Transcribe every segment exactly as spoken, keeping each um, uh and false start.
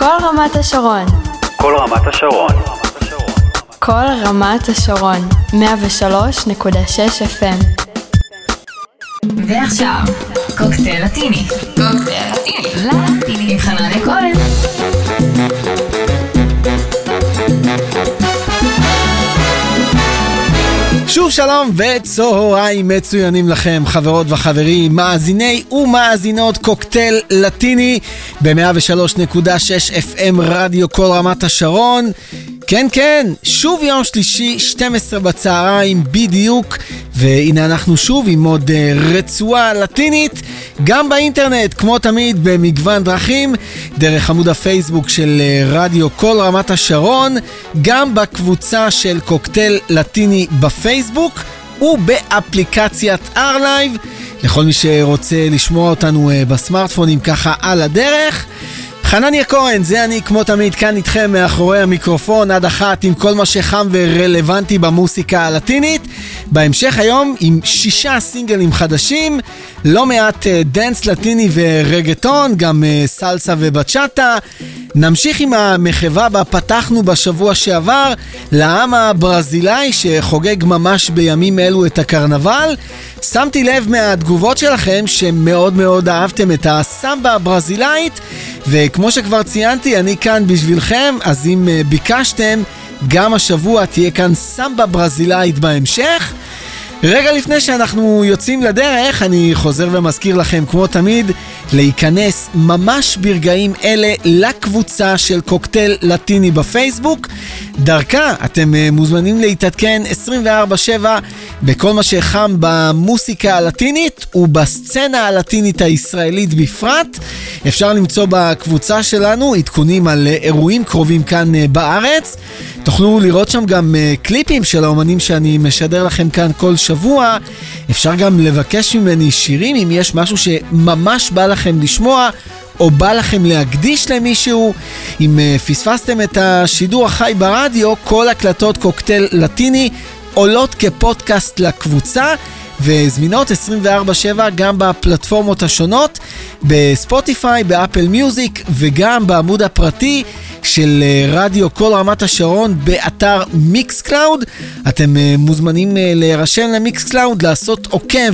כל רמת השרון. כל רמת השרון. כל רמת השרון. מאה ושלוש נקודה שש אף אם. ועכשיו, קוקטייל לטיני. קוקטייל לטיני. לטיני עם חנן כהן. שוב שלום וצהריים מצוינים לכם חברות וחברים, מאזיני ומאזינות קוקטייל לטיני ב-מאה ושלוש נקודה שש אף אם רדיו כל רמת השרון. כן כן, שוב יום שלישי שתים עשרה בצהריים בדיוק, והנה אנחנו שוב עם עוד רצועה לטינית, גם באינטרנט כמו תמיד במגוון דרכים, דרך עמוד הפייסבוק של רדיו כל רמת השרון, גם בקבוצה של קוקטייל לטיני בפייסבוק ובאפליקציית ארלייב, לכל מי שרוצה לשמוע אותנו בסמארטפונים ככה על הדרך. חנניה כהן, זה אני כמו תמיד כאן איתכם מאחורי המיקרופון עד אחת עם כל מה שחם ורלוונטי במוסיקה הלטינית. בהמשך היום עם שישה סינגלים חדשים, לא מעט דנס לטיני ורגטון, גם סלסה ובצ'אטה. נמשיך עם המחווה בה פתחנו בשבוע שעבר לעם הברזילאי שחוגג ממש בימים אלו את הקרנבל. שמתי לב מהתגובות שלכם שמאוד מאוד אהבתם את הסמבה הברזילאית, וכמו שכבר ציינתי, אני כאן בשבילכם, אז אם ביקשתם, גם השבוע תהיה כאן סמבה ברזילאית בהמשך. רגע לפני שאנחנו יוצאים לדרך, אני חוזר ומזכיר לכם כמו תמיד להיכנס ממש ברגעים אלה לקבוצה של קוקטייל לטיני בפייסבוק. דרכה אתם מוזמנים להתעדכן עשרים וארבע שבע בכל מה שחם במוסיקה הלטינית ובסצנה הלטינית הישראלית בפרט. אפשר למצוא בקבוצה שלנו עדכונים על אירועים קרובים כאן בארץ. תוכלו לראות שם גם קליפים של האומנים שאני משדר לכם כאן כל שבוע. אפשר גם לבקש ממני שירים אם יש משהו שממש בא לכם לשמוע או בא לכם להקדיש למישהו. אם פספסתם את השידור החי ברדיו, כל הקלטות קוקטייל לטיני עולות כפודקאסט לקבוצה וזמינות עשרים וארבע שבע גם בפלטפורמות השונות, בספוטיפיי, באפל מיוזיק וגם בעמוד הפרטי של רדיו כל רמת השרון באתר מיקס קלאוד. אתם מוזמנים להירשם למיקס קלאוד, לעשות עוקב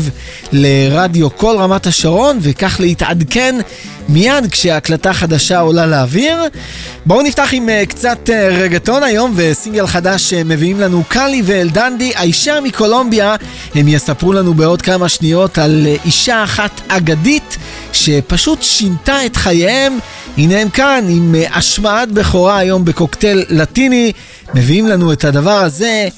לרדיו כל רמת השרון וכך להתעדכן מיד כשההקלטה חדשה עולה לאוויר. בואו נפתח עם קצת רגטון היום, וסינגל חדש מביאים לנו קלי ואלדנדי, האישה מקולומביה. הם יספרו לנו בעוד כמה שניות על אישה אחת אגדית שפשוט שינתה את חייהם. הנה הם כאן עם השמעת בכורה היום בקוקטייל לטיני, מביאים לנו את הדבר הזה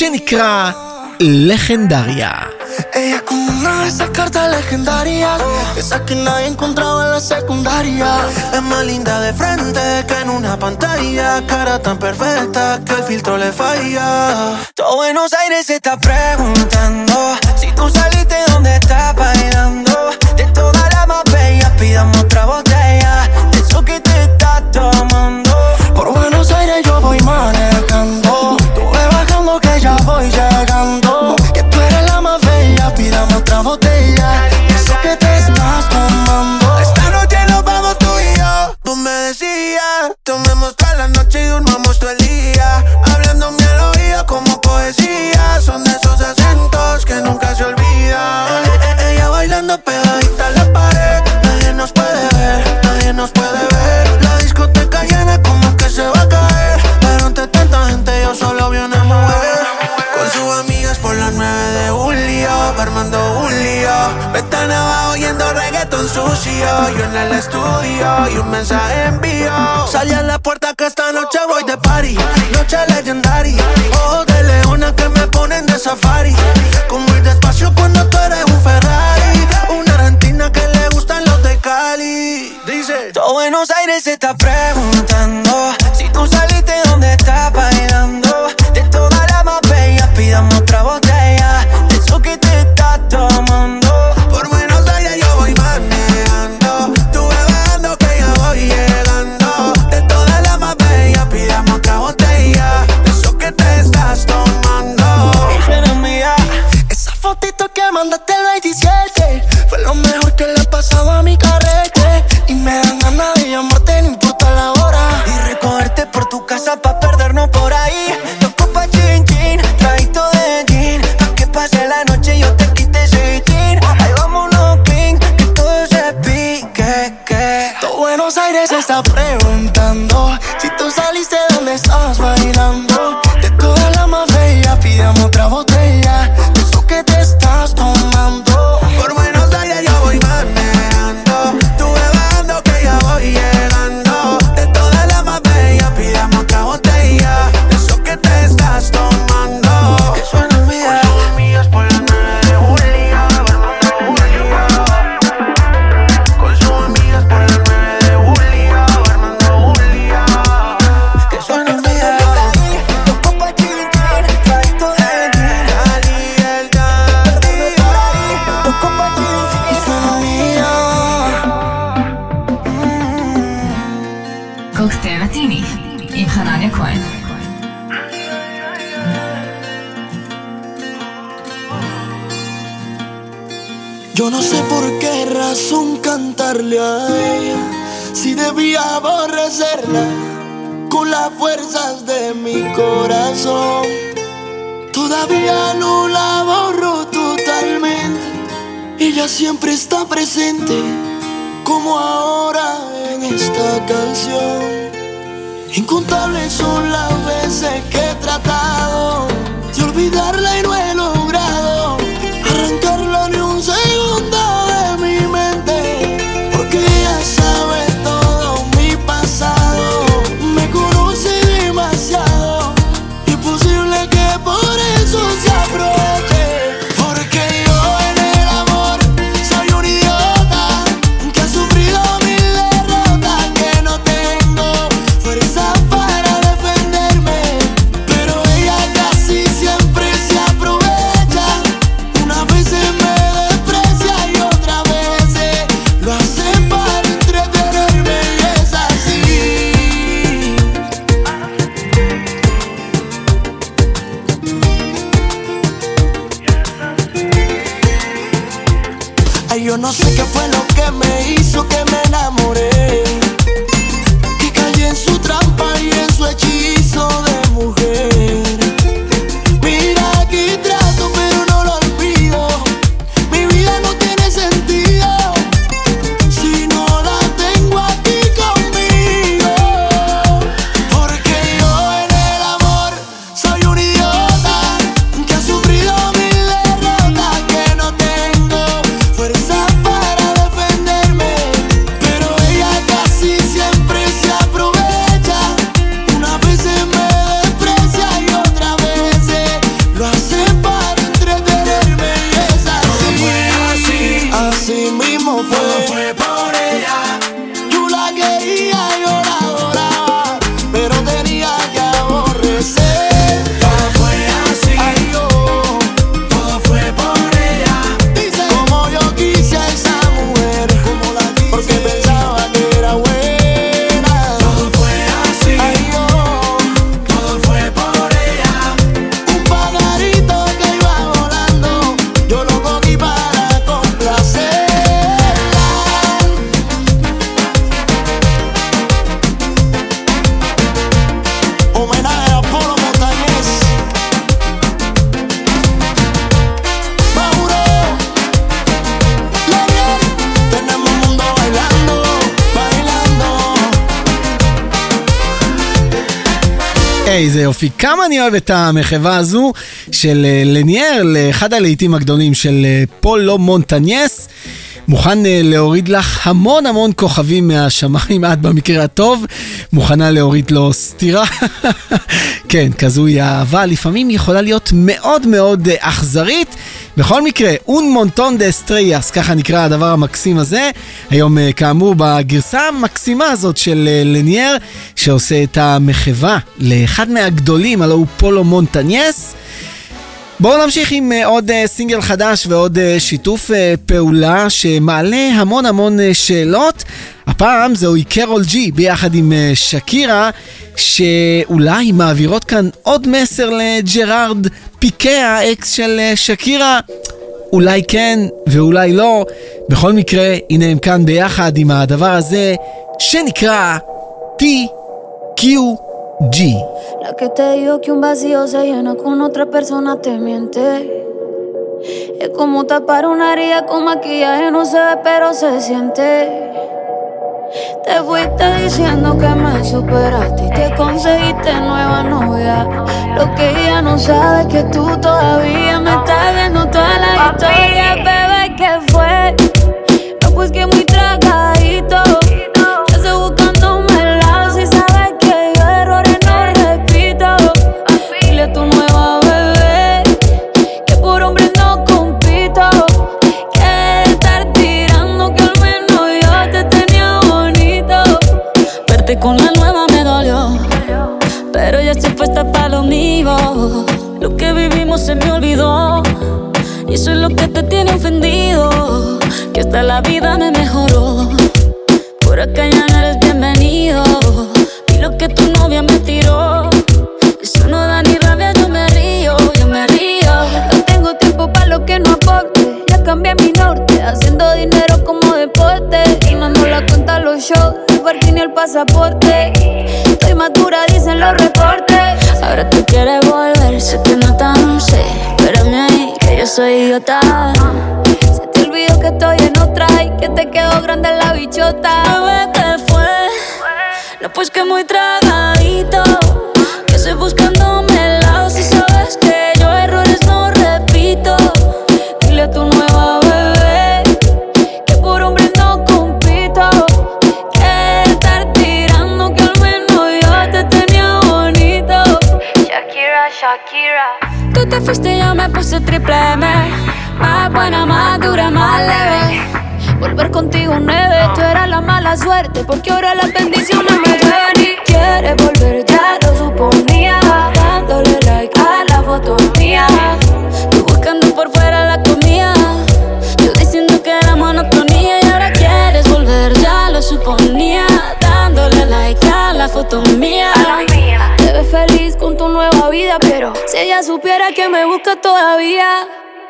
שנקרא Legendaria. Ella como una de esas cartas legendarias, esas que nadie encontraba en la secundaria. Es más linda de frente que en una pantalla, cara tan perfecta que el filtro le falla. Todo Buenos Aires se está preguntando si tú saliste, ¿dónde estás bailando? De todas las más bellas pidamos otra botella de eso que te estás tomando. Por Buenos Aires yo voy manejando, tú ve bajando que ya voy llegando. Que tú eres la más bella, pidamos otra botella de eso que te estás tomando. Esta noche nos vamos tú y yo. Tú me decías, tomemos toda la noche y durmamos todo el día, hablando mi al oído como poesía. Son de esos acentos que nunca se olvidan. Ella bailando pegadita a la pared, nadie nos puede ver, nadie nos puede ver. La discoteca llena como que se va a caer, pero ante tanta gente yo solo vi una mujer con sus amigas por las nueve de julio, armando un lío. Están abajo oyendo reggaeton sucio, yo en el estudio y un mensaje envío. Salí a la puerta que esta noche voy de party, noche legendaria. Ojos de leona que me ponen de safari, con muy despacio cuando tú eres un Ferrari. Una argentina que le gustan los de Cali. Dice, todo Buenos Aires se está preguntando si tú saliste, ¿dónde estás bailando? De todas las más bellas pidamos otra botella de eso que te estás tomando. Por Buenos Aires yo voy manejando, tú ve bajando que ya voy llegando. De todas las más bellas pidamos otra botella de eso que te estás tomando. Esa fotito que mandaste el veintisiete fue lo mejor que le ha pasado a mi carrete, y me dan ganas de llamarte, no importa la hora. se está preguntando si tú saliste donde estabas bailando. De todas las más bellas pidamos otra botella de eso que te estás tomando. Por Buenos Aires yo voy manejando, tú bebando que ya voy llegando. De todas las más bellas pidamos otra botella de eso que te estás tomando. Que suena mía, con sus amigas por la nueve de Julia, con sus amigas por la nueve de Julia, Armando Julia. Que suena mía, los copas chiquitas, traito de Cali, el Cali, los copas chiquitas. Que suena mía. קוקטייל לטיני עם חנניה כהן. Yo no sé por qué razón cantarle a ella, si debía aborrecerla con las fuerzas de mi corazón. Todavía no la borro totalmente, ella siempre está presente, como ahora en esta canción. Incontables son las veces que he tratado de olvidarla y no he logrado arrancarla ni un segundo de mi mente, porque ella sabe todo mi pasado, me conoce demasiado, imposible que por eso se aproveche. Porque yo en el amor soy un idiota que ha sufrido mil derrotas, que no tengo fuerza para defenderme, pero ella casi siempre se aprovecha. Unas veces me desprecia y otras veces lo hace para entretenerme, y es así. Ay, yo no sé qué fue lo que me hizo que me enamoré, que caí en su trampa y en su hechizo de mujer. Mira, aquí trato pero no lo olvido, mi vida no tiene sentido si no la tengo aquí conmigo. Porque yo en el amor soy un idiota que ha sufrido mil derrotas, que no tengo fuerza para defenderme, pero ella casi siempre se aprovecha. Unas veces me desprecia y otras veces lo hace para entretenerme, y es así. Así mismo fue, fue por ella. Yo la quería, yo la adoraba, pero tenía que aborrecer. Todo fue así. Ay, yo, todo fue por ella. Dice, como yo quise a esa mujer, como la quise, porque pensaba que era buena. Todo fue así. Ay, yo, todo fue por ella. Un pajarito que iba volando, yo lo cogí para complacerla. Homenaje a Polo Montañez, Mauro, Lariel, tenemos un mundo bailando, bailando. איזה יופי, כמה אני אוהב את המחווה הזו של אה, לניאר לאחד הלהיטים הגדולים של אה, פולו מונטניאס. מוכן אה, להוריד לך המון המון כוכבים מהשמיים, את במקרה הטוב מוכנה להוריד לו סתירה. כן, כזו היא אהבה, לפעמים יכולה להיות מאוד מאוד אה, אכזרית. בכל מקרה, un montón de estrellas, ככה נקרא הדבר המקסים הזה. היום אה, כאמור בגרסה המקסימה הזאת של אה, לניאר, שעושה את המחווה לאחד מהגדולים, הלוא הוא פולו מונטניאס. בואו נמשיך עם uh, עוד uh, סינגל חדש ועוד uh, שיתוף uh, פעולה שמעלה המון המון uh, שאלות. הפעם זוהי קרול ג'י ביחד עם uh, שקירה, שאולי מעבירות כאן עוד מסר לג'רארד פיקה, האקס של uh, שקירה. אולי כן ואולי לא. בכל מקרה, הנה הם כאן ביחד עם הדבר הזה שנקרא טי קיו ג'י. La que te digo que un vacío se llena con otra persona te miente. Es como tapar una herida con maquillaje, no se ve pero se siente. Te fuiste diciendo que me superaste y que conseguiste nueva novia. Lo que ella no sabe es que tú todavía me estás viendo toda la historia. Bebé, ¿qué fue? No, pues que muy tragadito. Ya estoy buscándome el lado. Si sabes que yo errores no repito. Dile a tu nueva bebé que por hombre no compito. Que estar tirando que al menos yo te tenía bonito. Verte con la nueva me dolió, pero ya estoy puesta para lo mío. Lo que vivimos se me olvidó y eso es lo que te tiene ofendido. Que hasta la vida me mejoró. Por acá ya no eres bienvenido. Y lo que tu novia me tiró, eso no da ni rabia, yo me río, yo me río. No tengo tiempo para lo que no aporte. Ya cambié mi norte, haciendo dinero como deporte. Y no nos la cuenta los shows, el parking y el pasaporte. Estoy madura, dicen los reportes. Ahora tú quieres volver, sé que no tan sé. Espérame ahí, que yo soy idiota. Se te olvidó que estoy en otra y que te quedó grande la bichota. Bebé, ¿qué fue? No, pues que muy tragadito. Que estoy buscándome el lado. Si sabes que yo errores no repito. Dile a tu nueva bebé que por hombre no compito. Que estar tirando que al menos yo te tenía bonito. Shakira, Shakira. Tú te fuiste y yo me puse triple M. Más buena, más dura, más leve. Volver contigo nueve, tú eras la mala suerte, porque ahora las bendiciones me llueven. Y quieres volver, ya lo suponía, dándole like a la foto mía. Tú buscando por fuera la comida, yo diciendo que era monotonía. Y ahora quieres volver, ya lo suponía, dándole like a la foto mía. Te ves feliz con tu nueva vida, pero si ella supiera que me busca todavía.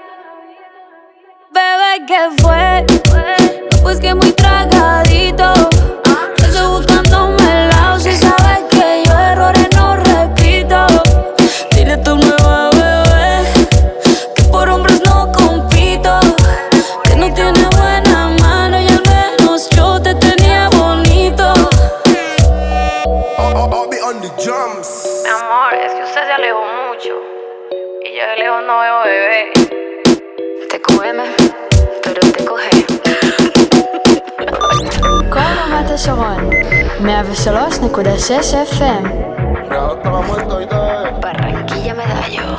Bebé, ¿qué fue? No, pues que muy tragadito. Yo estoy buscándome el lado. Si sabes que yo errores no repito. Dile a tu nueva bebé que por hombres no compito. Que no tiene buena mano y al menos yo te tenía bonito. I'll, I'll, I'll be on the drums. Mi amor, es que usted se alejó mucho y yo de lejos no veo bebé. Te cógeme, pero te coge. כל רמת השרון, מאה ושלוש נקודה שש אף אם. Barranquilla Medallo.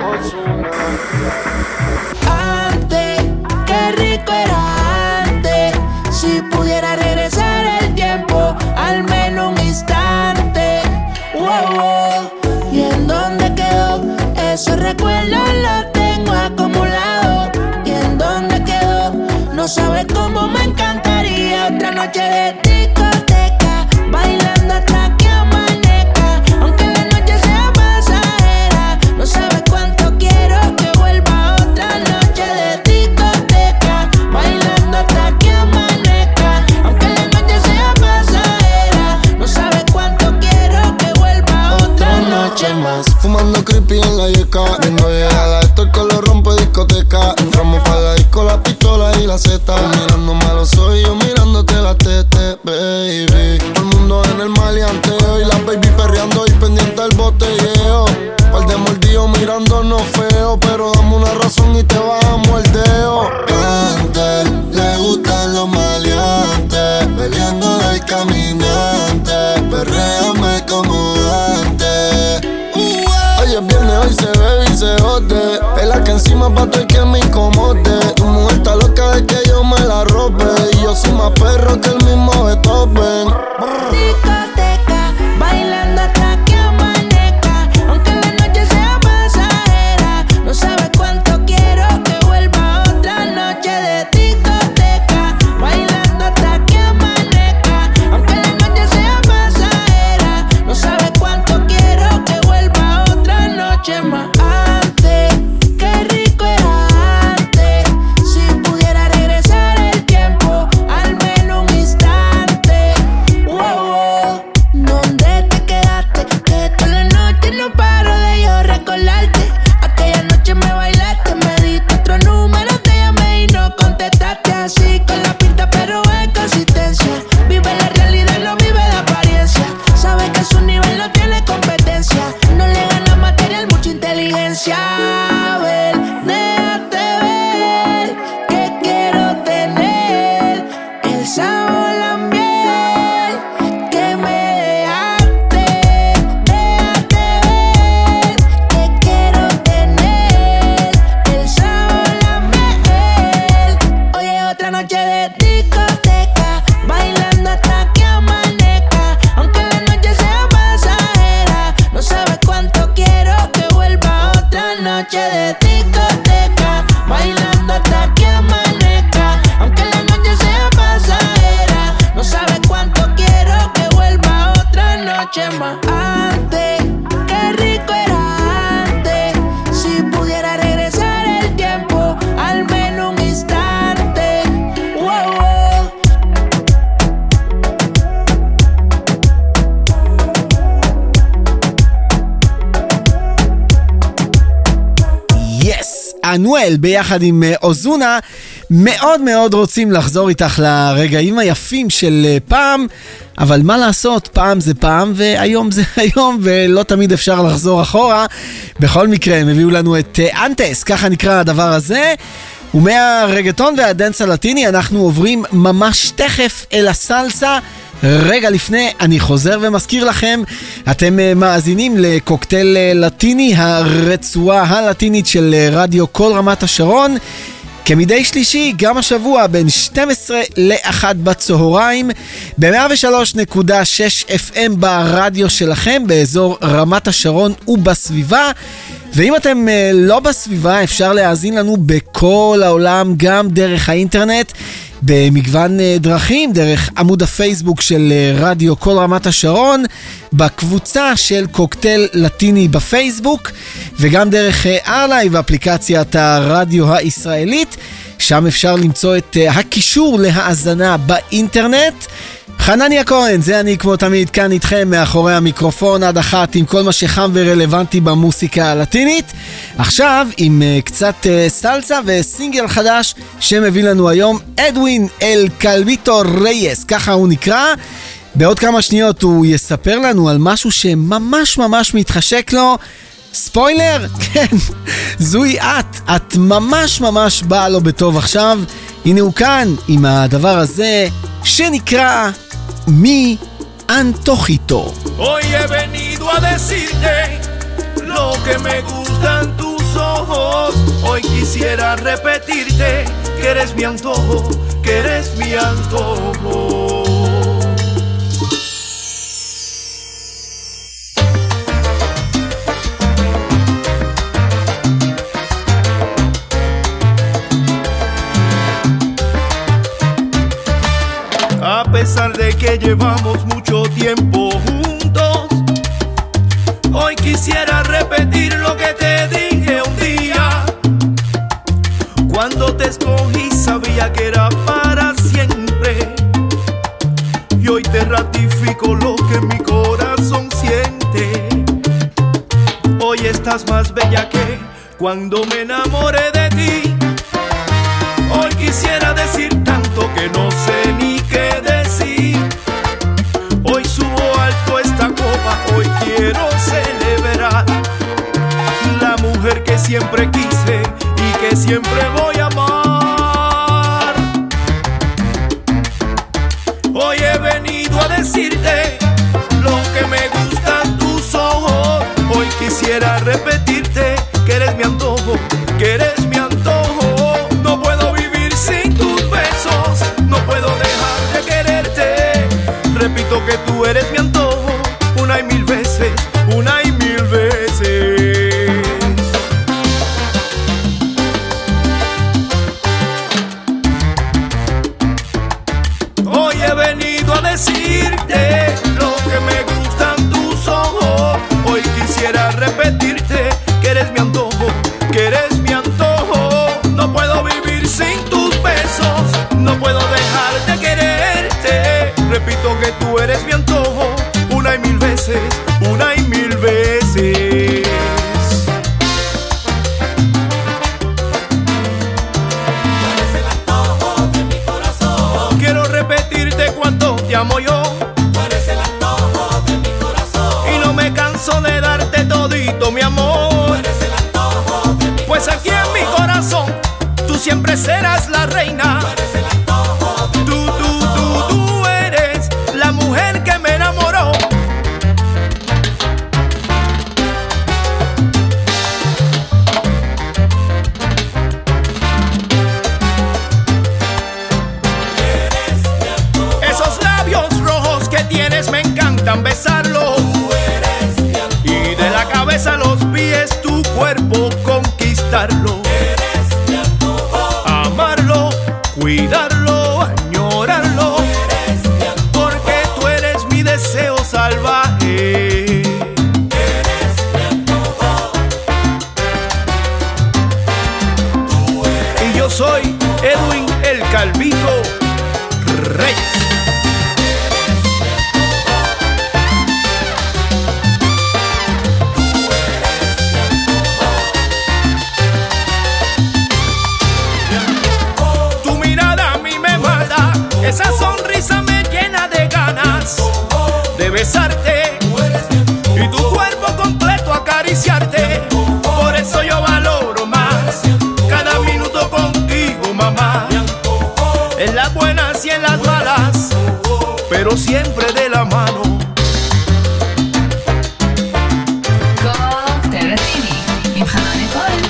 Antes, qué rico era antes. Si pudiera regresar el tiempo, al menos un instante. Wow, wow. ¿Y en dónde quedó? Esos recuerdos los tengo acumulados. ¿Y en dónde quedó? No sabes cómo me encantaría otra noche de discoteca, bailando hasta que amanezca. Aunque la noche sea pasajera, no sabes cuánto quiero que vuelva otra noche de discoteca, bailando hasta que amanezca. Aunque la noche sea pasajera, no sabes cuánto quiero que vuelva otra noche más. Fumando creepy en la yeca, viendo llegar a esto que lo rompe discoteca. Entramos pa' la disco, la pistola y la zeta. Mirándome a los ojos y yo mirándote la tete, baby. Todo el mundo en el maleanteo y la baby perreando y pendiente del botelleo. Par de mordidos mirándonos feo, pero dame una razón y te bajamos el dedo. Antes le gustan los maleantes, peleando del caminante. Perréame como antes. Hoy es viernes, hoy se bebe y se jode. Es la que encima pa' todo el que me incomode. Tu mujer está loca de que yo me la robe. Y yo soy más perro que el mismo Beethoven. Discoteca, bailando hasta que amanezca. Aunque la noche sea pasajera, no sabes cuánto quiero que vuelva otra noche de discoteca, bailando hasta que amanezca. Aunque la noche sea pasajera, no sabes cuánto quiero que vuelva otra noche más. Antes, qué rico era noche más antes. Qué rico era antes. Si pudiera regresar el tiempo, al menos un instante. Wow, wow. Yes! אנואל ביחד עם אוזונה מאוד מאוד רוצים לחזור איתך לרגעים היפים של פעם, אבל מה לעשות, פעם זה פעם והיום זה היום ולא תמיד אפשר לחזור אחורה. בכל מקרה הם הביאו לנו את אנטס, ככה נקרא הדבר הזה, ומהרגטון והדנס הלטיני אנחנו עוברים ממש תכף אל הסלסה. רגע לפני אני חוזר ומזכיר לכם, אתם מאזינים לקוקטייל לטיני, הרצועה הלטינית של רדיו כל רמת השרון, כמדי שלישי גם השבוע בין שתים עשרה לאחת בצהריים ב-מאה ושלוש נקודה שש אף אם ברדיו שלכם באזור רמת השרון ובסביבה. ואם אתם לא בסביבה אפשר להאזין לנו בכל העולם גם דרך האינטרנט במגוון דרכים, דרך עמוד הפייסבוק של רדיו כל רמת השרון, בקבוצה של קוקטייל לטיני בפייסבוק, וגם דרך ארלייב, אפליקציית הרדיו הישראלית, שם אפשר למצוא את הקישור להאזנה באינטרנט. חנניה כהן, זה אני כמו תמיד כאן איתכם מאחורי המיקרופון עד אחת עם כל מה שחם ורלוונטי במוסיקה הלטינית. עכשיו עם uh, קצת uh, סלסה וסינגל חדש שמביא לנו היום אדווין אל קלביטו רייס, ככה הוא נקרא. בעוד כמה שניות הוא יספר לנו על משהו שממש ממש מתחשק לו. ספוילר? כן, זוהי את, את ממש ממש באה לו בטוב עכשיו. הנה הוא כאן עם הדבר הזה שנקרא Mi Antojito. Hoy he venido a decirte lo que me gustan tus ojos. Hoy quisiera repetirte que eres mi antojo, que eres mi antojo. A pesar de que llevamos mucho tiempo juntos, hoy quisiera repetir lo que te dije un día. Cuando te escogí sabía que era para siempre, y hoy te ratifico lo que mi corazón siente. Hoy estás más bella que cuando me enamoré de ti. Hoy quisiera decir tanto que no sé ni qué decir. Hoy subo alto esta copa, hoy quiero celebrar la mujer que siempre quise y que siempre voy a amar. Hoy he venido a decirte lo que me gustan tus ojos. Hoy quisiera repetirte que eres mi antojo, que eres mi antojo. No puedo vivir sin tus besos, no puedo dejar de quererte. Repito que tú eres mi antojo, una y mil veces, una y mil veces. Hoy he venido a decirte lo que me gustan tus ojos. Hoy quisiera repetirte que eres mi antojo, que eres mi antojo. No puedo vivir sin tus besos, no puedo dejar de quererte. Repito que tú eres mi antojo, una y mil veces, una y mil veces. Tú eres el antojo de mi corazón. Quiero repetirte cuánto te amo yo. Tú eres el antojo de mi corazón. Y no me canso de darte todito mi amor. Tú eres el antojo de mi pues corazón. Aquí en mi corazón tú siempre serás la reina. Tú eres el antojo de mi tú, tú, tú, tú eres la mujer que me enamoró. Eres mi antojo. Esos labios rojos que tienes me encantan besarlos. Tú eres mi antojo. Y de la cabeza a los pies tu cuerpo conquistarlo. Eres mi antojo. Amarlo, cuidarlo, añorarlo. Eres mi antojo. Porque tú eres mi deseo salvaje. besarte y tu cuerpo completo acariciarte. Por eso yo valoro más cada minuto contigo, mamá. En las buenas y en las malas, pero siempre de la mano. קוקטייל לטיני עם חנן כהן.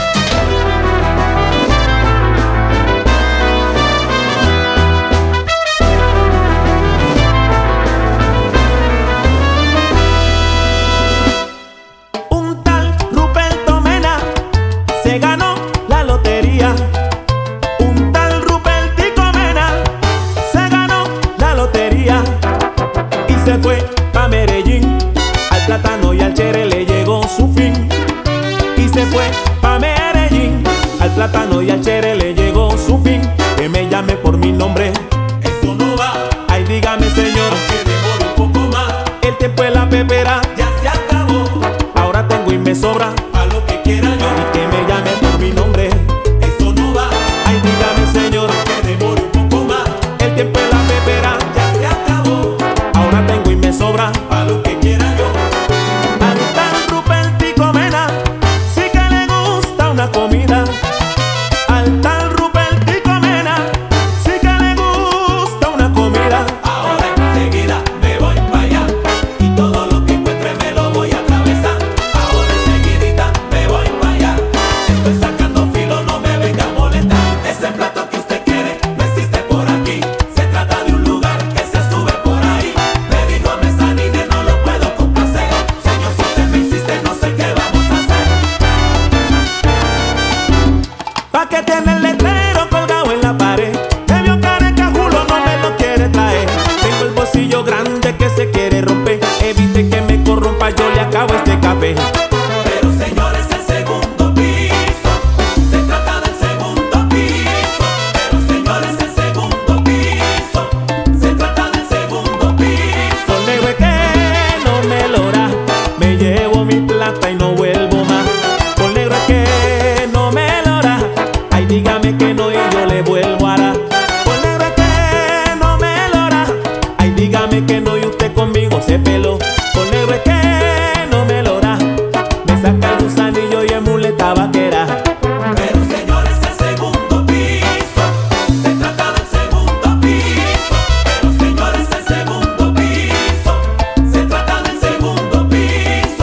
Se ganó la lotería. Un tal Rupertico Mena se ganó la lotería y se fue pa' Medellín. Al plátano y al chere le llegó su fin. Y se fue pa' Medellín. Al plátano y al chere le llegó su fin. Que me llame por mi nombre, eso no va. Ay, dígame señor, que demore un poco más. El tiempo de la pepera ya se acabó. Ahora tengo y me sobra pa' lo que quiera yo. Y que me llame por mi nombre, eso no va. Ay, dígame señor, que demore un poco más. El tiempo de la pepera ya se acabó. Ahora tengo y me sobra pa' lo que quiera yo. Al tal Rupertico Mena sí que le gusta una comida. Al tal Rupertico Mena sí que le gusta una comida. Ahora enseguida me voy pa' allá y todo lo que encuentre me lo voy a atravesar. Ahora enseguidita me voy pa' allá. Estoy sacando filo, no me venga a molestar. Ese plato que usted quiere no existe por aquí. Se trata de un lugar que se sube por ahí. Me dijo a Mezzanine, no lo puedo complacer. Señor, si usted me insiste, no sé qué vamos a hacer. Pa' que tiene el letrero colgado en la pared. Me vio careca, Julo, no me lo quiere traer. Tengo el bolsillo grande que se quiere romper. Evite que me corrompa, yo le acabo este café. Pero señores, el segundo piso. Se trata del segundo piso. Pero señores, el segundo piso. Se trata del segundo piso. Con negro es que no me lo da. Me llevo mi plata y no vuelvo más. Con negro es que no me lo da. Ay, dígame que no y yo le vuelvo a dar. Con negro es que no me lo da. Ay, dígame que no y usted conmigo se peló. Con negro es que no me lo da. Me saca el gusanillo y es muleta vaquera. Pero señores, el segundo piso. Se trata del segundo piso. Pero señores, el segundo piso. Se trata del segundo piso.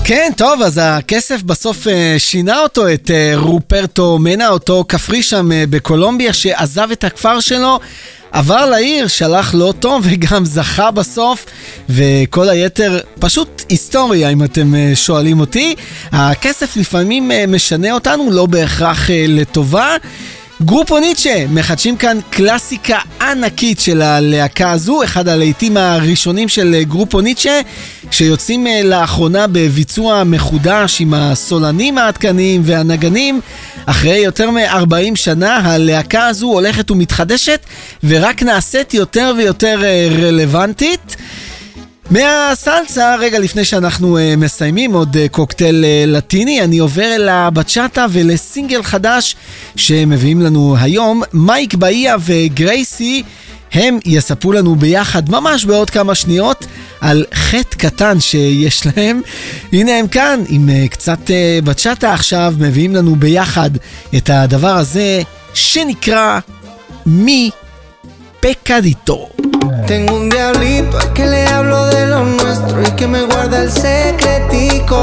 כן, טוב, אז הכסף בסוף שינה אותו, את רופרטו מנה, אותו כפרי שם בקולומביה שעזב את הכפר שלו, עבר לעיר, שלח לא טוב וגם זכה בסוף, וכל היתר פשוט היסטוריה אם אתם שואלים אותי. הכסף לפעמים משנה אותנו, לא בהכרח לטובה. גרופו ניטשה מחדשים כאן קלאסיקה ענקית של הלהקה הזו, אחד הלהיטים הראשונים של גרופו ניטשה, שיוצאים לאחרונה בביצוע מחודש עם הסולנים העדכניים והנגנים. אחרי יותר מ-ארבעים שנה הלהקה הזו הולכת ומתחדשת ורק נעשית יותר ויותר רלוונטית. מהסלסה, רגע לפני שאנחנו uh, מסיימים עוד uh, קוקטייל uh, לטיני, אני עובר אל הבצ'אטה ולסינגל חדש שמביאים לנו היום. מייק באיה וגרייסי, הם יספרו לנו ביחד ממש בעוד כמה שניות על חטא קטן שיש להם. הנה הם כאן עם uh, קצת uh, בצ'אטה עכשיו, מביאים לנו ביחד את הדבר הזה שנקרא מי pecadito. Tengo un diablito al que le hablo de lo nuestro y que me guarda el secretico.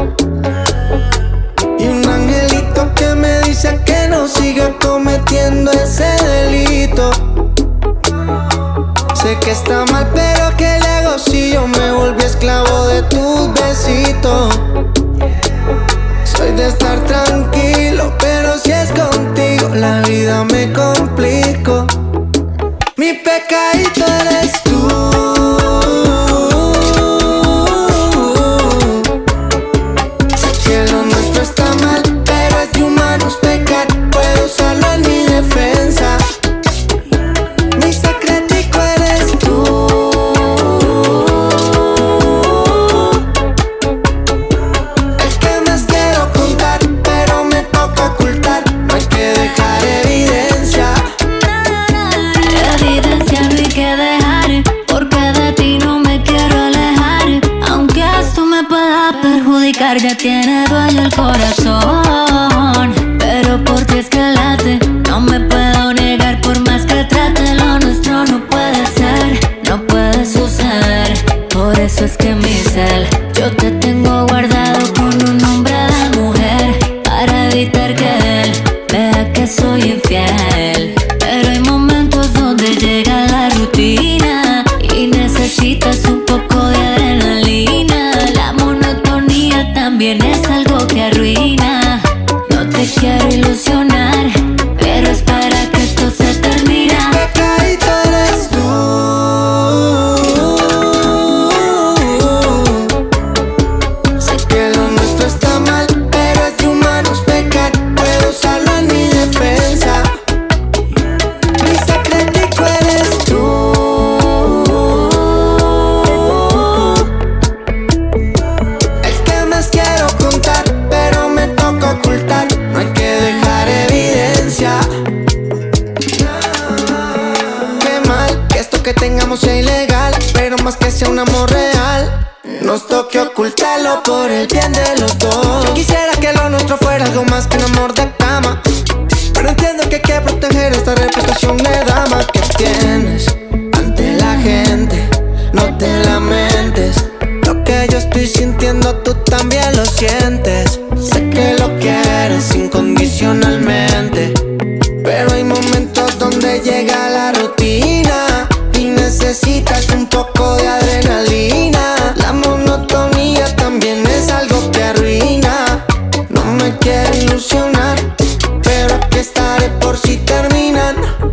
Y un angelito que me dice que no siga cometiendo ese delito. Sé que está mal, pero ¿qué le hago si yo me volví esclavo de tus besitos? Soy de estar tranquilo, pero si es contigo la vida me complico. Mi pecadito eres tú. Sé que lo nuestro está mal, pero es de humanos pecar. Puedo usarlo en mi defensa. Mi secretico eres tú. El que más quiero contar, pero me toca ocultar. No hay que dejar evidencia. Evidencia no hay que dejar, porque de ti no me quiero alejar. Aunque esto me pueda perjudicar, ya tiene dueño el corazón. Pero por ti es que late, no me puedo negar. Por más que trate, lo nuestro no puede ser, no puede suceder. Por eso es que mi cel, yo te tengo guardado con un nombre de mujer, para evitar que él vea que soy infiel. Pero hay momentos donde llega la rutina y necesitas un poco de adrenalina. La monotonía también es algo que arruina. No te quiero ilusionar, pero espera que esto se termina. Pecadito eres tú. Sé que lo nuestro está mal, pero es de humanos pecar. Puedo usarlo en mi defensa. Mi secretico eres tú. El que más quiero contar, pero me toca ocultar. No hay que dejar evidencia. Qué mal que esto que tengamos sea ilegal, pero más que sea un amor real, nos toque ocultarlo por el bien de los dos. Yo quisiera que lo nuestro fuera algo más que un amor de cama, pero entiendo que hay que proteger esta reputación de dama que tienes ante la gente. No te lamentes, lo que yo estoy sintiendo tú también lo sientes. Sé que lo quieres incondicionalmente, pero hay momentos donde llega la rutina y necesitas un poco de adrenalina. La monotonía también es algo que arruina. No me quiero ilusionar, pero aquí estaré por si terminan.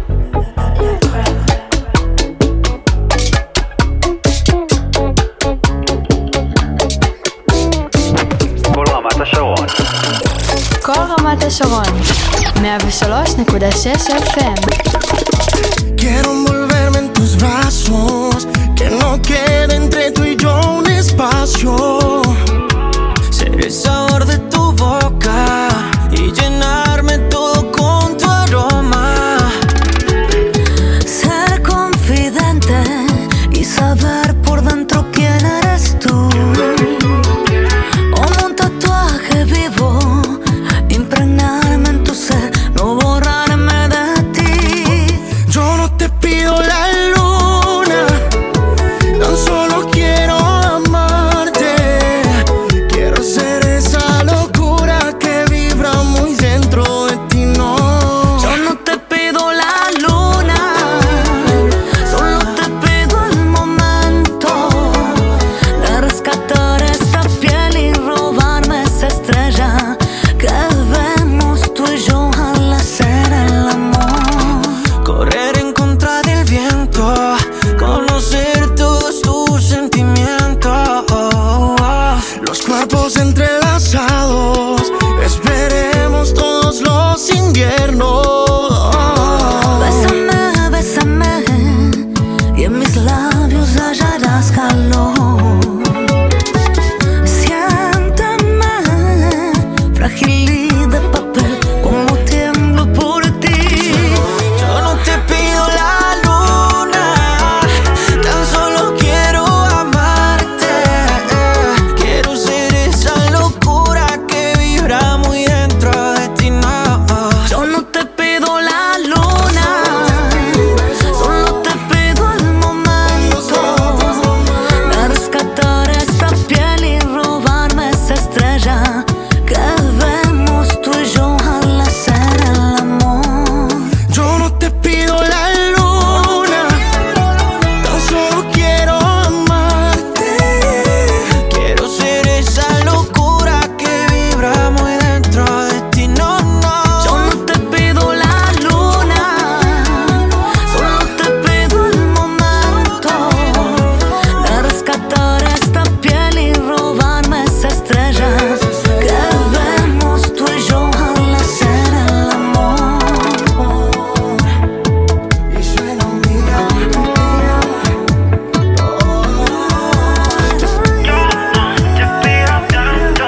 כל רמת השרון. כל רמת השרון, מאה ושלוש נקודה שש אף אם. Quiero envolverme en tus brazos, que no quede entre tú y yo un espacio. Ser el sabor de tu boca y llenarme todo con tu aroma. Ser confidente y saber por dentro quién eres tú. Como un tatuaje vivo, impregnarme en tu ser, no borrarme de ti. Yo no te pido hallarás calor. Siéntame, frágil de papel, como tiemblo por ti. Yo no te pido la luna, tan solo quiero amarte. Quiero ser esa locura que vibra muy dentro de ti, no. Yo no te pido la luna, solo te pido el momento de rescatar esta piel y robarme esa estrella que vemos tú y yo al hacer el amor. Yo no te pido la luna, tan solo quiero amarte. Quiero ser esa locura que vibra muy dentro de ti, no, no. Yo no te pido la luna, solo te pido el momento de rescatar esta piel y robarme esa estrella que vemos tú y yo al hacer el amor. Y suena un día, te pido tanto,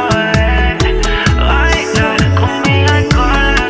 bailar conmigo y con la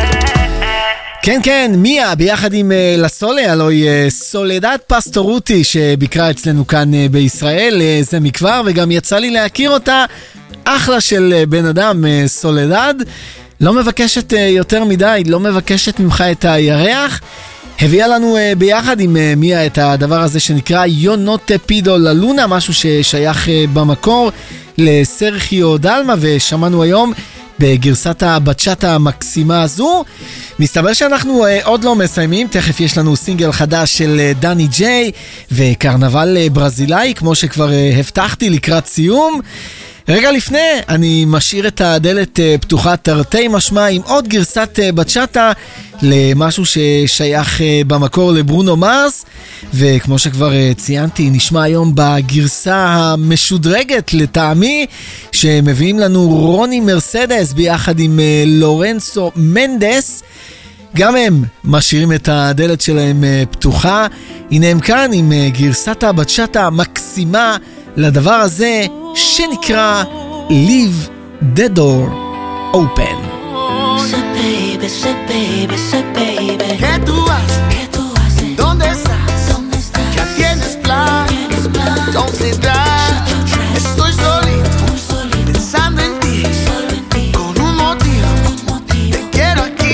soledad. כן כן, מיה ביחד עם אה, לסולה, הלוי אה, סולדד פסטורוטי שביקרה אצלנו כאן אה, בישראל אה, זה מכבר, וגם יצא לי להכיר אותה. אחלה של אה, בן אדם, אה, סולדד, לא מבקשת אה, יותר מדי, לא מבקשת ממך את הירח. הביאה לנו uh, ביחד עם uh, מיה את הדבר הזה שנקרא Yo no te pido la luna, משהו ששייך uh, במקור לסרחיו דלמה, ושמענו היום בגרסת הבצ'אטה המקסימה הזו. מסתבר שאנחנו uh, עוד לא מסיימים, תכף יש לנו סינגל חדש של uh, דני ג'יי וקרנבל uh, ברזילאי, כמו שכבר uh, הבטחתי לקראת סיום. רגע לפני, אני משאיר את הדלת uh, פתוחה תרתי משמע עם עוד גרסת uh, בצ'אטה למשהו ששייך uh, במקור לברונו מרס, וכמו שכבר uh, ציינתי, נשמע היום בגרסה המשודרגת לטעמי שמביאים לנו רוני מרסדס ביחד עם uh, לורנסו מנדס. גם הם משאירים את הדלת שלהם uh, פתוחה. הנה הם כאן עם uh, גרסת הבצ'אטה המקסימה לדבר הזה שנקרא Leave the Door Open. Say baby, say baby, say baby. ¿Qué tú haces? ¿Qué tú haces? ¿Dónde estás? ¿Dónde estás? ¿Ya tienes plan? ¿Tienes plan? Don't sit down. Estoy solito, Muy solito, pensando en ti, solo en ti. con un motivo. Un motivo. Te quiero aquí.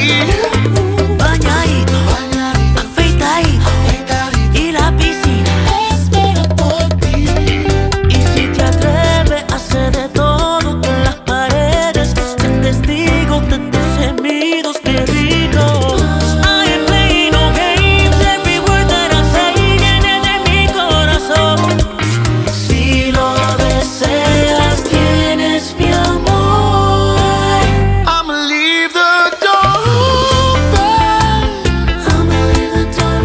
Bañadito, afeitadito, y la piscina espera por ti. Y si te atreves a hacer de todo en las paredes, ser testigo de tus gemidos, qué rico. I ain't playing no games, every word that I say viene de mi corazón. Si lo deseas, tienes mi amor. I'ma leave the door open. I'ma leave the door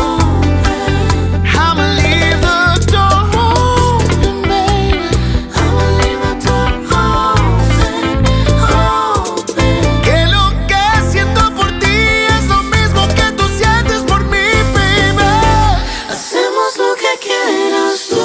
open. I'ma leave the door open, baby. I'ma leave the door open, open. Que lo que siento por ti es lo mismo que tú sientes por mí, baby. Hacemos lo que quieras tú.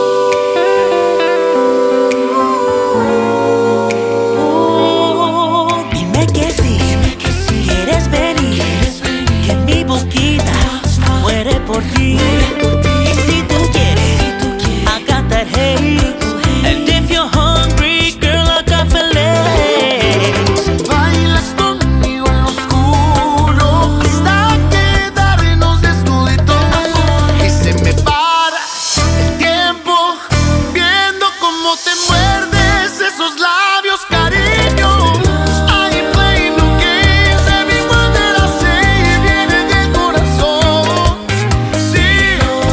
Oh, dime que sí, quieres venir, que mi boquita muere por ti. Y si tú quieres, I got that hate. And if you're hungry, girl, I got fillets. Bailas conmigo en lo oscuro hasta quedarnos desnuditos. Y se me para el tiempo viendo cómo te muerdes esos labios, cariño. I ain't playing no games, every word that I say viene del corazón. Sí,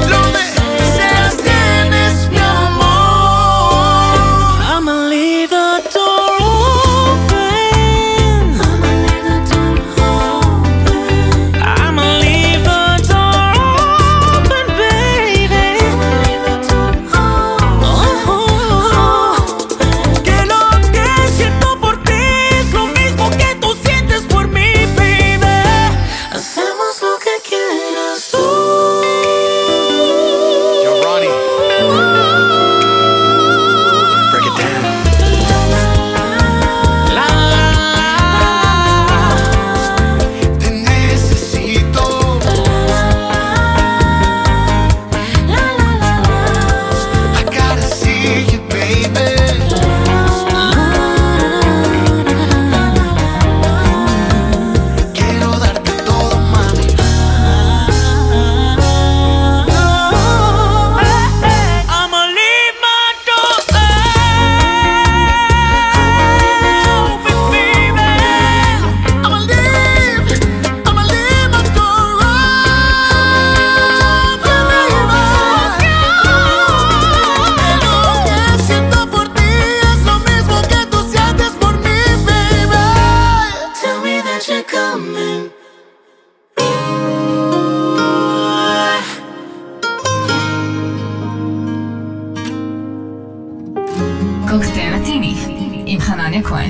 Tania Cohen.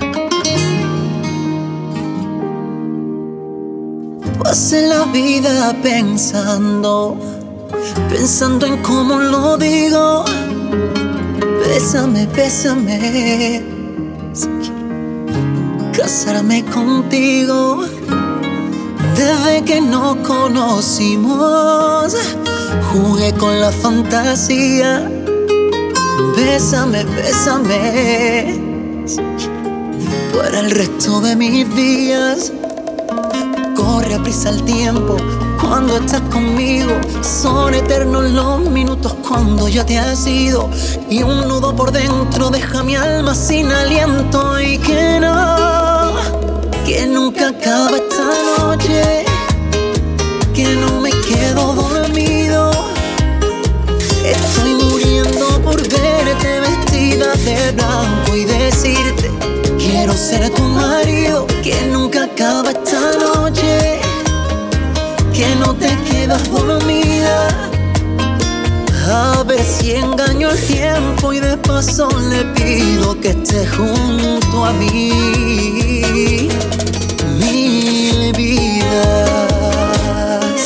Pasé la vida pensando, pensando en cómo lo digo. Bésame, bésame, si quiero casarme contigo. Desde que nos conocimos, jugué con la fantasía. Bésame, bésame, si quiero, para el resto de mis días. Corre a prisa el tiempo cuando estás conmigo. Son eternos los minutos cuando ya te has ido. Y un nudo por dentro deja mi alma sin aliento. Y que no, que nunca acaba esta noche, que no me quedo dormido. Estoy muriendo por verte vestida de blanco y decirte: quiero ser tu marido. Que nunca acaba esta noche, que no te quedas dormida. A ver si engaño el tiempo y de paso le pido que esté junto a mí mil vidas.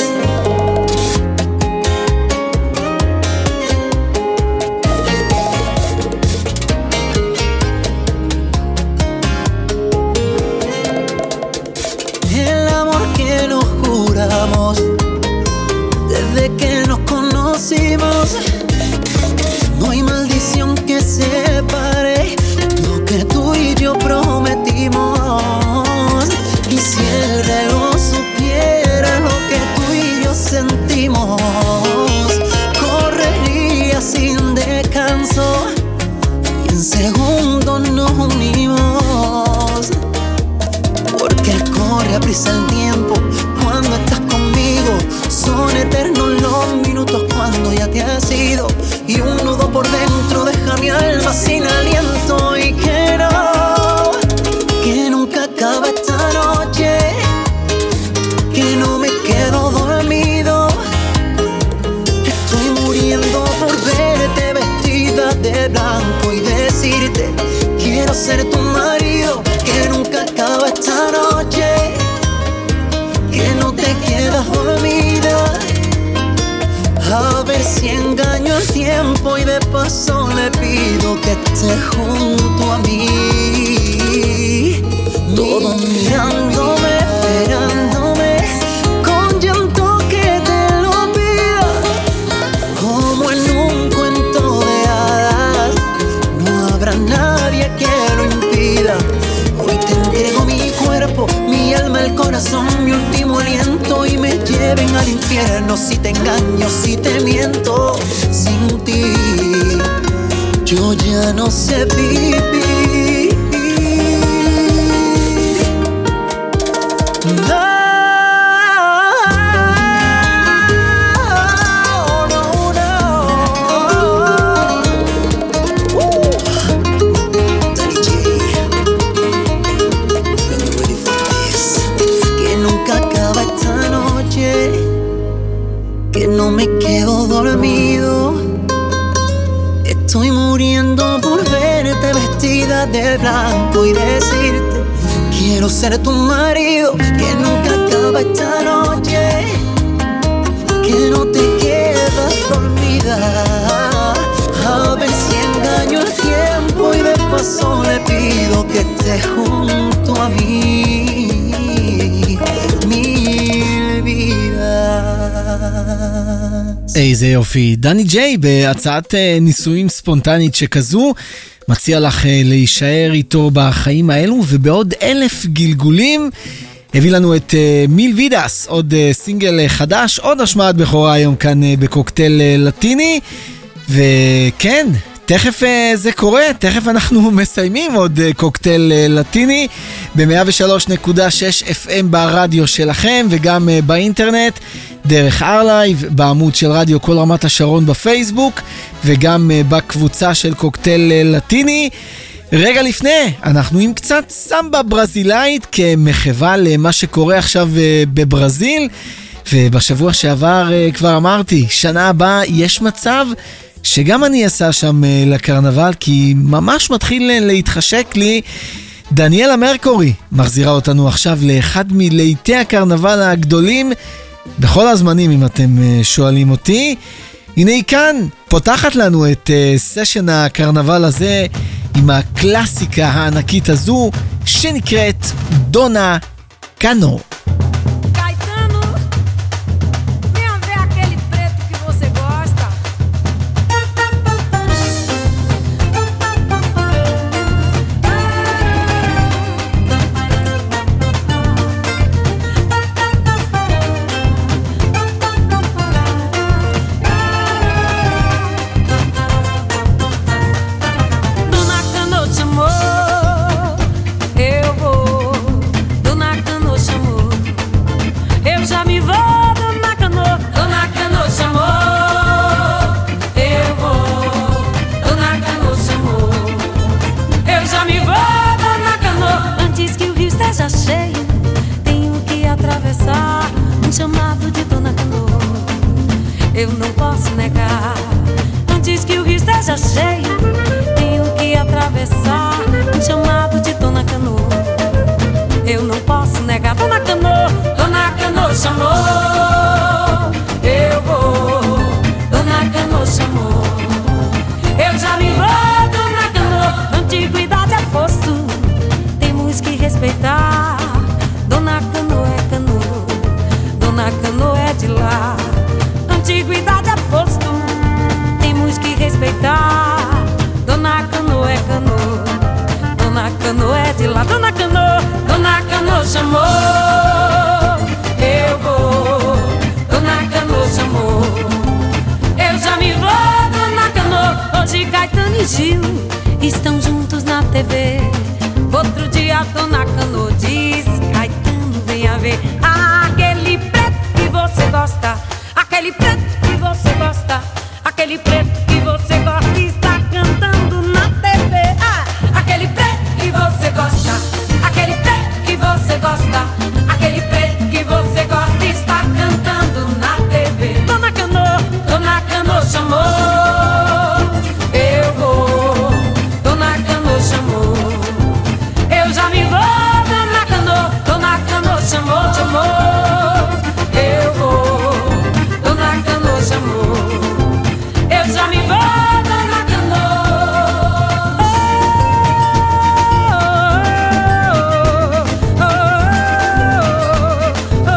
El amor que nos juramos desde que nos conocimos, no hay maldición que separe lo que tú y yo prometimos. Y si el reloj supiera lo que tú y yo sentimos, correría sin descanso y en segundos nos unimos. Porque corre a prisa el tiempo cuando estás conmigo. Son eternos los minutos cuando ya te has ido. Y un nudo por dentro deja mi alma sin aliento. Y que no, que nunca acaba esta noche, que no me quedo dormido. Estoy muriendo por verte vestida de blanco y decirte: quiero ser tu marido. Que nunca acaba esta noche, que no te quedas dormida. A ver si engaño el tiempo y de paso le pido que esté junto a mí. Todo mirándome, esperándome, con llanto que te lo pida. Como en un cuento de hadas, no habrá nadie que lo impida. Hoy te entrego mi cuerpo, mi alma, el corazón, mi último aliento. Y me lleven al infierno si te engaño, si te miento. Sin ti yo ya no sé vivir. No. Que no me quedo dormido. Estoy muriendo por verte vestida de blanco y decirte: quiero ser tu marido. Que nunca acaba esta noche, que no te quedas dormida. A ver si engaño el tiempo y de paso le pido que estés junto a mí mil vidas. איזה יופי. דני ג'יי בהצעת נישואים ספונטנית שכזו מציע לך להישאר איתו בחיים האלו, ובעוד אלף גלגולים הביא לנו את מיל וידס, עוד סינגל חדש, עוד השמעת בכורה היום כאן בקוקטייל לטיני. וכן, תכף זה קורה, תכף אנחנו מסיימים עוד קוקטייל לטיני ב-מאה ושלוש נקודה שש אף אם ברדיו שלכם, וגם באינטרנט דרך ארלייב, בעמוד של רדיו כל רמת השרון בפייסבוק, וגם בקבוצה של קוקטייל לטיני. רגע לפני, אנחנו עם קצת סמבה ברזילאית כמחווה למה שקורה עכשיו בברזיל, ובשבוע שעבר כבר אמרתי, שנה הבאה יש מצב שגם אני אסע שם לקרנבל, כי ממש מתחיל להתחשק לי. דניאלה מרקורי מחזירה אותנו עכשיו לאחד מלהיטי הקרנבל הגדולים בכל הזמנים, אם אתם שואלים אותי. הנה היא כאן, פותחת לנו את סשן הקרנבל הזה עם הקלאסיקה הענקית הזו שנקראת דונה קאנו. Chamado de Dona Canoa, eu não posso negar. Antes que o rio esteja cheio, tenho que atravessar. Um chamado de Dona Canoa, eu não posso negar. Dona Canoa, Dona Canoa chamou, eu vou. Dona Canoa chamou, eu já me vou. Dona Canoa, antiguidade é posto, temos que respeitar. Dona Canoa é canoa, Dona Canoa é de lá. Antiguidade é posto, temos que respeitar. Dona Canoa é canoa, Dona Canoa é de lá. Dona Canoa, Dona Canoa chamou, eu vou. Dona Canoa chamou, eu já me vou. Dona Canoa, hoje Caetano e Gil estão juntos na T V. Outro dia Dona Canoa diz: Caetano, venha ver aquele preto que você gosta, aquele preto que você gosta, aquele preto que você gosta está cantando na T V. Ah, aquele preto que você gosta, aquele preto que você gosta, aquele preto que você gosta está cantando na T V. Dona Canoa, Dona Canoa chamou, eu vou. Dona Canoa chamou, eu já me vou. Dona Canoa, Dona Canoa chamou, chamou, eu vou. Dona Canoa chamou, eu já me vou. Dona Canoa, oh, oh, oh,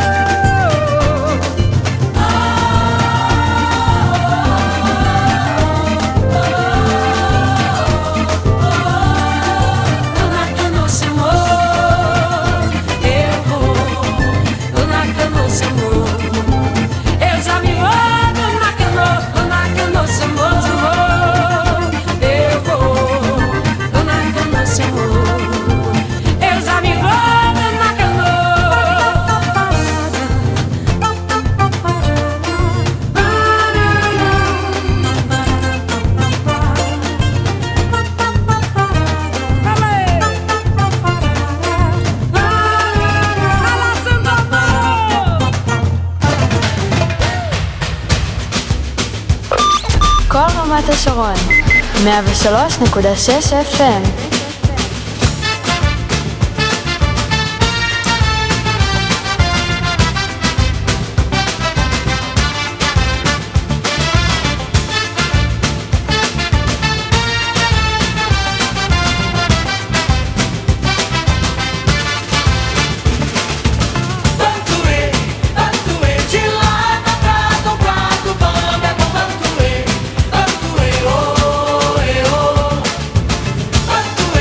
Dona Canoa chamou, eu vou. Dona Canoa chamou, eu já me vou. Dona Canoa, Dona Canoa chamou, chamou, eu vou. Dona Canoa chamou, eu já me vou. Dona כל רמת השרון, מאה ושלוש נקודה שש אף אם. Bantuê, oh, eh, oh.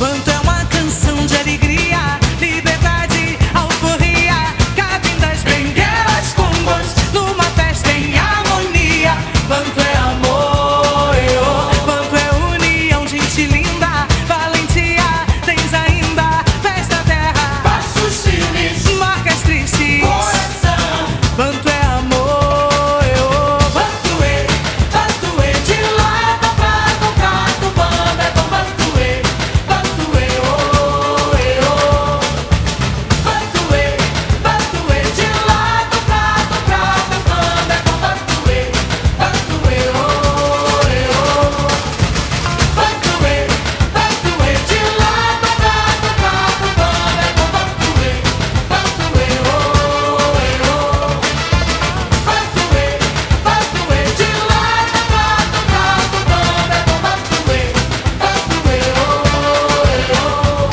Quanto é uma canção de alegria, liberdade, alforria. Cabem das benguelas com gosto, numa festa em harmonia. Quanto é amor, oh, quanto é união, gente linda, valentia, tens ainda festa terra, passos firmes, marcas tristes, coração. Quanto é amor, oh, bantuê, bantuê, de lá pra cá, tocar do banda, é bom bantuê, bantuê, oh, oh, bantuê, bantuê, de lá pra cá, tocar do banda, é bom bantuê, bantuê, oh, oh, bantuê, bantuê, de lá pra cá, tocar do banda, é bom bantuê, bantuê, oh, oh, bantuê, bantuê, de lá pra cá, tocar do banda, é bom bantuê, bantuê, oh, oh,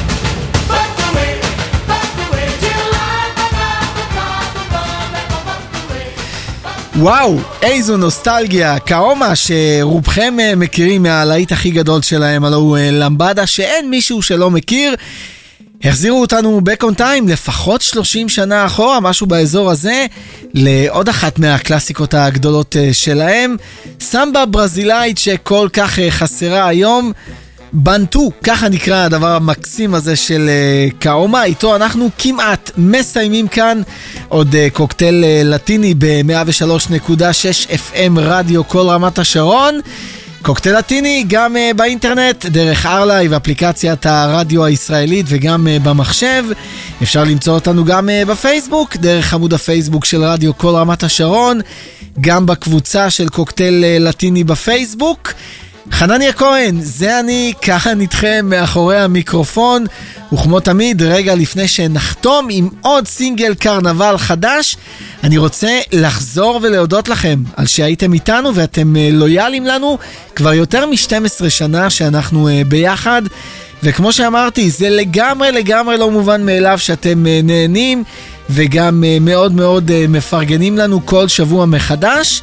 bantuê, bantuê, de lá pra cá, tocar do banda, é bom bantuê. וואו, איזו נוסטלגיה. כאומה שרובכם אה, מכירים מהלהיט הכי גדול שלהם, הלוא הוא אה, למבדה, שאין מישהו שלא מכיר. החזירו אותנו back on time לפחות שלושים שנה אחורה, משהו באזור הזה, לעוד אחת מהקלאסיקות הגדולות אה, שלהם, סמבה ברזילאית שכל כך אה, חסרה היום, בנטו, ככה נקרא הדבר המקסים הזה של uh, כאומה. איתו אנחנו כמעט מסיימים כאן עוד uh, קוקטייל uh, לטיני ב-מאה ושלוש נקודה שש אף אם רדיו כל רמת השרון. קוקטייל לטיני גם uh, באינטרנט, דרך ארלייב, אפליקציית הרדיו הישראלית, וגם uh, במחשב. אפשר למצוא אותנו גם uh, בפייסבוק, דרך עמוד הפייסבוק של רדיו כל רמת השרון, גם בקבוצה של קוקטייל uh, לטיני בפייסבוק. חנניה כהן, זה אני, ככה נתכם מאחורי המיקרופון, וכמו תמיד, רגע לפני שנחתום עם עוד סינגל קרנבל חדש, אני רוצה לחזור ולהודות לכם על שהייתם איתנו ואתם לויאלים לנו כבר יותר מ-שתים עשרה שנה שאנחנו ביחד, וכמו שאמרתי, זה לגמרי לגמרי לא מובן מאליו שאתם נהנים וגם מאוד מאוד מפרגנים לנו כל שבוע מחדש.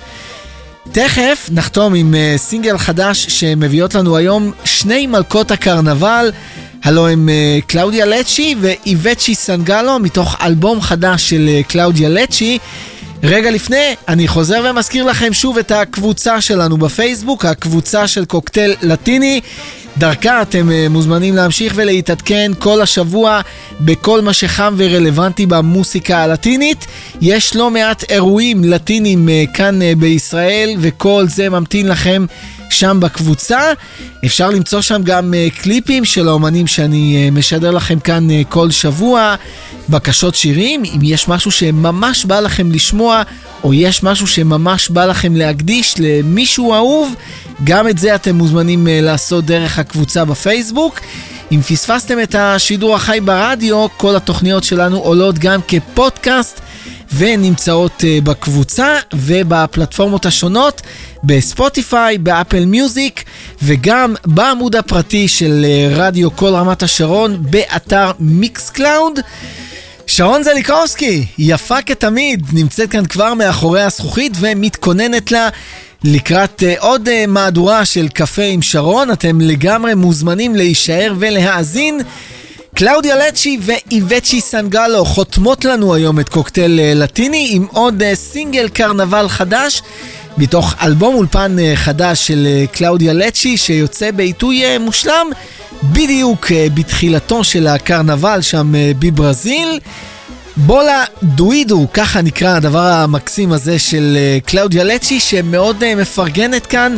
תכף נחתום עם uh, סינגל חדש שמביאות לנו היום שני מלכות הקרנבל, הלו הם uh, קלאודיה לצ'י ואיבצ'י סנגלו, מתוך אלבום חדש של uh, קלאודיה לצ'י. רגע לפני, אני חוזר ומזכיר לכם שוב את הקבוצה שלנו בפייסבוק, הקבוצה של קוקטייל לטיני. דרכה אתם uh, מוזמנים להמשיך ולהתעדכן כל השבוע בכל מה שחם ורלוונטי במוסיקה הלטינית. יש לא מעט אירועים לטינים uh, כאן uh, בישראל, וכל זה ממתין לכם שם בקבוצה. אפשר למצוא שם גם uh, קליפים של האומנים שאני uh, משדר לכם כאן uh, כל שבוע, בקשות שירים, אם יש משהו שממש בא לכם לשמוע, או יש משהו שממש בא לכם להקדיש למישהו אהוב, גם את זה אתם מוזמנים uh, לעשות דרך הקבוצה בפייסבוק. אם פספסתם את השידור החי ברדיו, כל התוכניות שלנו עולות גם כפודקאסט ונמצאות uh, בקבוצה ובפלטפורמות השונות, בספוטיפיי, באפל מיוזיק, וגם בעמוד הפרטי של uh, רדיו כל רמת השרון באתר מיקס קלאוד. שרון זליקובסקי, יפה כתמיד, נמצאת כאן כבר מאחורי הזכוכית ומתכוננת לה לקראת uh, עוד uh, מהדורה של קפה עם שרון. אתם לגמרי מוזמנים להישאר ולהאזין. קלאודיה לצ'י ואיבצ'י סנגלו חותמות לנו היום את קוקטייל uh, לטיני עם עוד uh, סינגל קרנבל חדש מתוך אלבום אולפן uh, חדש של uh, קלאודיה לצ'י, שיוצא בעיתוי uh, מושלם בדיוק uh, בתחילתו של הקרנבל שם uh, בברזיל. בולה דואידו, ככה נקרא הדבר המקסים הזה של uh, קלאודיה לצ'י, שמאוד uh, מפרגנת כאן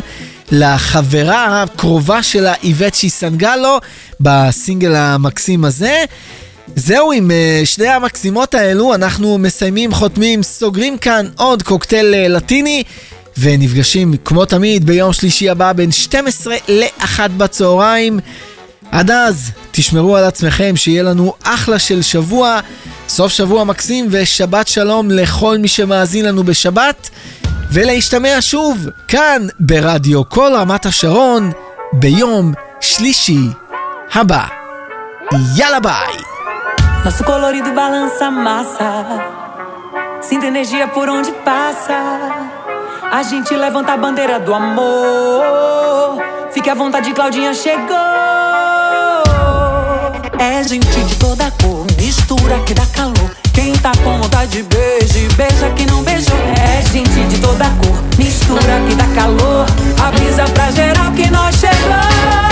לחברה הקרובה שלה איבצ'י סנגלו בסינגל המקסים הזה. זהו, עם uh, שני המקסימות האלו אנחנו מסיימים, חותמים, סוגרים כאן עוד קוקטייל uh, לטיני, ונפגשים כמו תמיד ביום שלישי הבא בין שתים עשרה לאחת בצהריים. עד אז תשמרו על עצמכם, שיהיה לנו אחלה של שבוע, סוף שבוע מקסים, ושבת שלום לכל מי שמאזין לנו בשבת, ולהשתמע שוב כאן ברדיו כל רמת השרון ביום שלישי הבא. יאללה ביי. Nosso colorido balança massa, sinta energia por onde passa. A gente levanta a bandeira do amor. Fique à vontade, Claudinha chegou. É gente de toda cor, mistura que dá calor. Quem tá com vontade de beijo, beija que não beijou. É gente de toda cor, mistura que dá calor. Avisa pra geral que nós chegamos.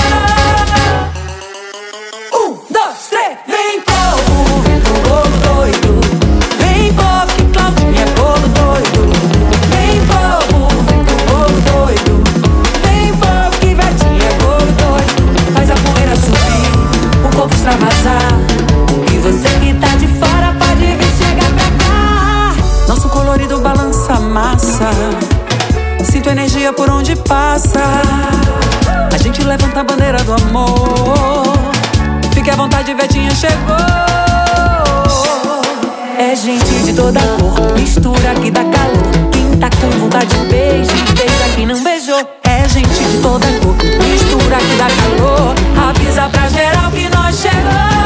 Um, dois, três, vem povo, vem pro bolo doido. Vem povo que Claudinha é bolo doido. Vem povo, vem pro bolo doido. Vem povo que Vetinha é bolo doido. Faz a poeira subir, o corpo extravasar. E você que tá de fora pode vir chegar pra cá. Nosso colorido balança a massa. Sinto energia por onde passa. A gente levanta a bandeira do amor. Fique à vontade, Vetinha chegou. É gente de toda cor, mistura que dá calor. Quem tá com vontade de beijo, beija que não beijou. É gente de toda cor, mistura que dá calor. Avisa pra geral que nós chegamos.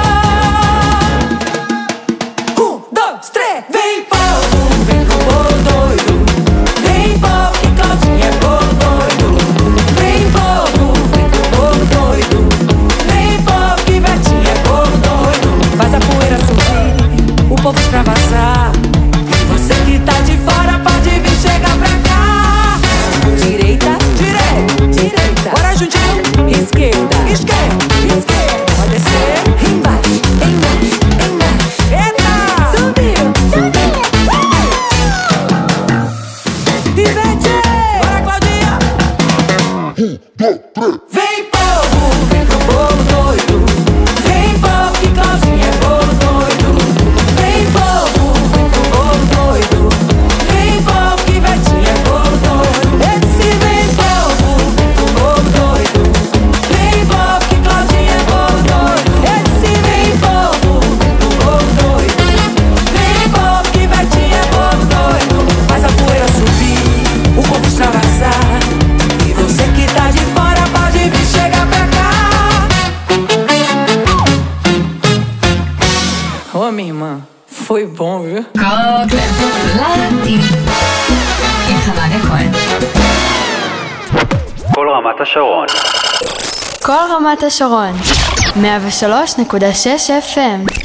Um, dois, três, vem povo, vem pro bolo doido. Vem povo que Claudinha é bolo doido. Vem povo, vem pro bolo doido. Vem povo que Vetinha é bolo doido. Faz a poeira subir, o povo extravasar. E você que tá de fora pode vir chegar pra cá. Direita, direita, direita. Bora juntinho, esquerda, esquerda, esquerda. Pode descer, embaixo, embaixo, embaixo. Eita, subiu, subiu. Ivete, bora Claudinha. Um, dois, três. Vem povo, vem pro bolo doido. Vem povo que Claudinha é bolo doido. Vem povo, vem pro bolo doido. Vem povo que Vetinha é bolo doido. Esse vem povo, vem pro bolo doido. Vem povo que Claudinha é bolo doido. Esse vem povo, vem pro bolo doido. Vem povo que Vetinha é bolo doido. Faz a poeira subir, o povo extravasar. E você que tá de fora pode vir chegar pra cá. Ô minha irmã, foi bom, viu? קוקטייל לטיני עם חנניה כהן. כל רמת השרון. כל רמת השרון, מאה ושלוש נקודה שש אף אם.